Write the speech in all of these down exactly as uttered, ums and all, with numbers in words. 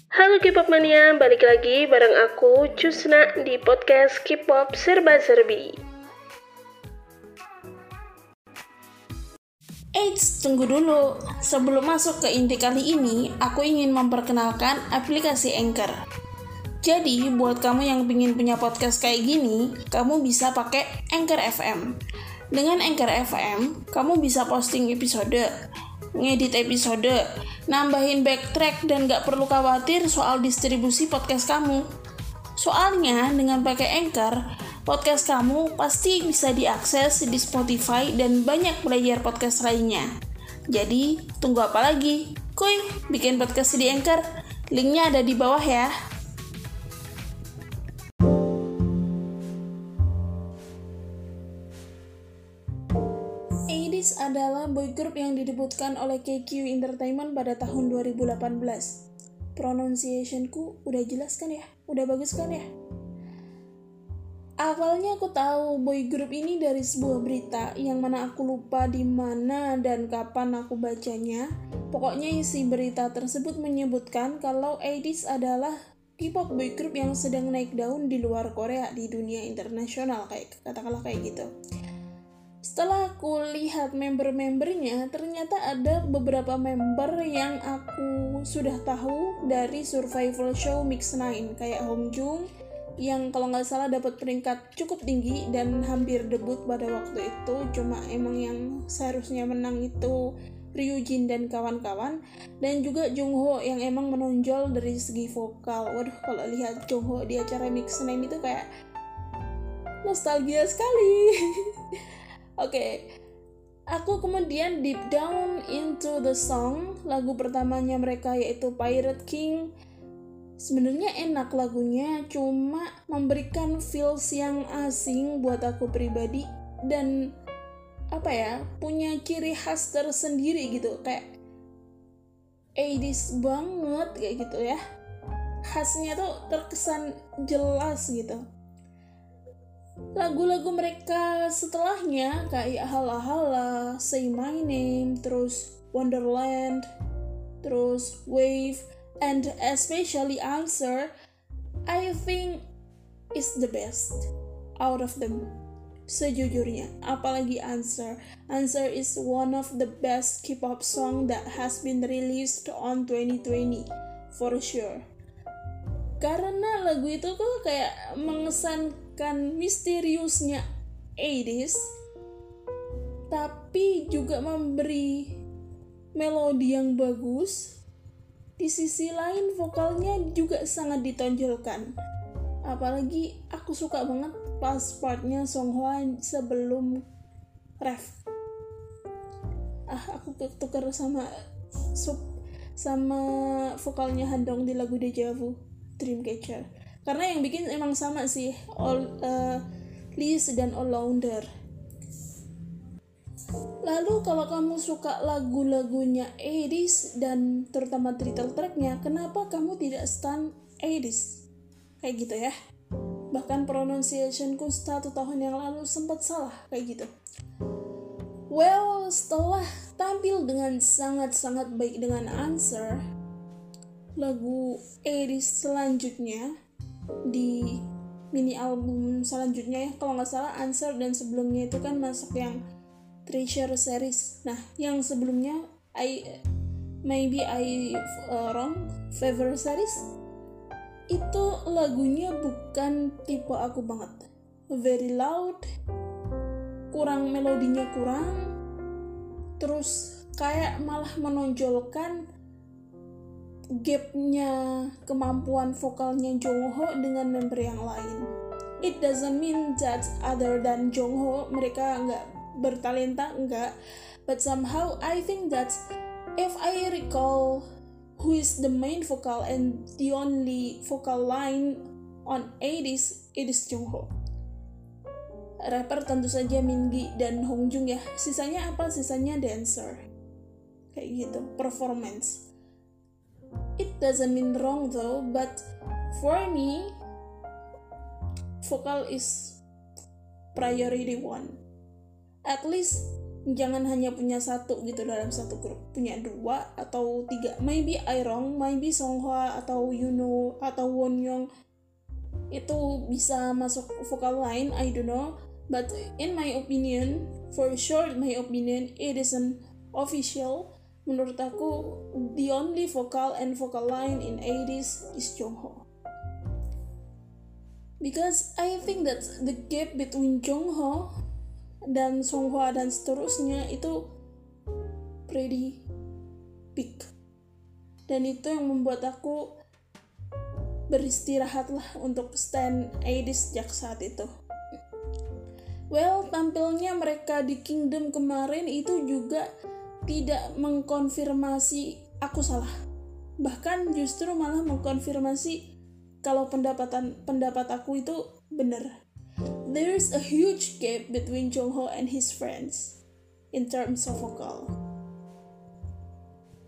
Halo K-pop mania, balik lagi bareng aku Cusna di podcast K-pop Serba Serbi. Eits, tunggu dulu. Sebelum masuk ke inti kali ini, aku ingin memperkenalkan aplikasi Anchor. Jadi, buat kamu yang ingin punya podcast kayak gini, kamu bisa pakai Anchor F M. Dengan Anchor F M, kamu bisa posting episode, ngedit episode, nambahin backtrack, dan gak perlu khawatir soal distribusi podcast kamu. Soalnya, dengan pakai Anchor, podcast kamu pasti bisa diakses di Spotify dan banyak player podcast lainnya. Jadi, tunggu apa lagi? Kuy, bikin podcast di Anchor. Linknya ada di bawah ya. A-Diz adalah boy group yang didebutkan oleh K Q Entertainment pada tahun dua ribu delapan belas. Pronunciation-ku udah jelas kan ya? Udah bagus kan ya? Awalnya aku tahu boy group ini dari sebuah berita yang mana aku lupa di mana dan kapan aku bacanya. Pokoknya isi berita tersebut menyebutkan kalau A-Diz adalah K-pop boy group yang sedang naik daun di luar Korea, di dunia internasional, kayak katakanlah kayak gitu. Setelah aku lihat member-membernya, ternyata ada beberapa member yang aku sudah tahu dari survival show Mix Nine, kayak Hongjung yang kalau nggak salah dapat peringkat cukup tinggi dan hampir debut pada waktu itu. Cuma emang yang seharusnya menang itu Ryujin dan kawan-kawan, dan juga Jongho yang emang menonjol dari segi vokal. Waduh, kalau lihat Jongho di acara Mix Nine itu kayak nostalgia sekali. Oke, okay. Aku kemudian deep down into the song. Lagu pertamanya mereka yaitu Pirate King. Sebenarnya enak lagunya, cuma memberikan feels yang asing buat aku pribadi dan apa ya, punya ciri khas tersendiri gitu, kayak A-Diz banget kayak gitu ya. Khasnya tuh terkesan jelas gitu. Lagu-lagu mereka setelahnya kayak Hala Hala, Say My Name, terus Wonderland, terus Wave, and especially Answer, I think is the best out of them. Sejujurnya, apalagi Answer. Answer is one of the best K-pop song that has been released on twenty twenty, for sure. Karena lagu itu tuh kayak mengesankan misteriusnya A-Diz, tapi juga memberi melodi yang bagus. Di sisi lain vokalnya juga sangat ditonjolkan. Apalagi aku suka banget pas partnya Songhwa sebelum ref. Ah, aku ketukar sama sub sama vokalnya Handong di lagu Deja Vu, Dreamcatcher. Karena yang bikin emang sama sih, all uh, Liz dan All-Rounder. Lalu kalau kamu suka lagu-lagunya A-Diz dan terutama title tracknya, kenapa kamu tidak stan A-Diz? Kayak gitu ya. Bahkan pronunciationku satu tahun yang lalu sempat salah kayak gitu. Well, setelah tampil dengan sangat-sangat baik dengan Answer, lagu A-Diz selanjutnya di mini album selanjutnya ya, kalau nggak salah Answer dan sebelumnya itu kan masuk yang Treasure series. Nah, yang sebelumnya I maybe I uh, wrong Favor series itu lagunya bukan tipe aku banget. Very loud, kurang melodinya kurang, terus kayak malah menonjolkan gapnya kemampuan vokalnya Jongho dengan member yang lain. It doesn't mean that other than Jongho mereka nggak bertalenta, enggak, but somehow I think that if I recall who is the main vocal and the only vocal line on A-Diz, it is Jongho. Rapper tentu saja Mingi dan Hongjung ya. Sisanya apa? Sisanya dancer. Kayak gitu, performance. It doesn't mean wrong though, but for me, vocal is priority one. At least jangan hanya punya satu gitu dalam satu grup, punya dua atau tiga. Maybe I wrong, maybe Songhwa atau Yuno atau Wonyoung itu bisa masuk vokal line, I don't know. But in my opinion, for sure my opinion, it isn't official. Menurut aku, the only vocal and vocal line in eighties is Jongho. Because I think that the gap between Jongho dan Songhwa dan seterusnya itu pretty big. Dan itu yang membuat aku beristirahatlah untuk stand eighties sejak saat itu. Well, tampilnya mereka di Kingdom kemarin itu juga tidak mengkonfirmasi aku salah. Bahkan justru malah mengkonfirmasi kalau pendapatan pendapat aku itu benar. There's a huge gap between Jongho and his friends in terms of vocal.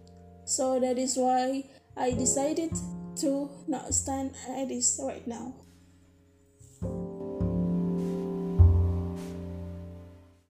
So that is why I decided to not stand at this right now.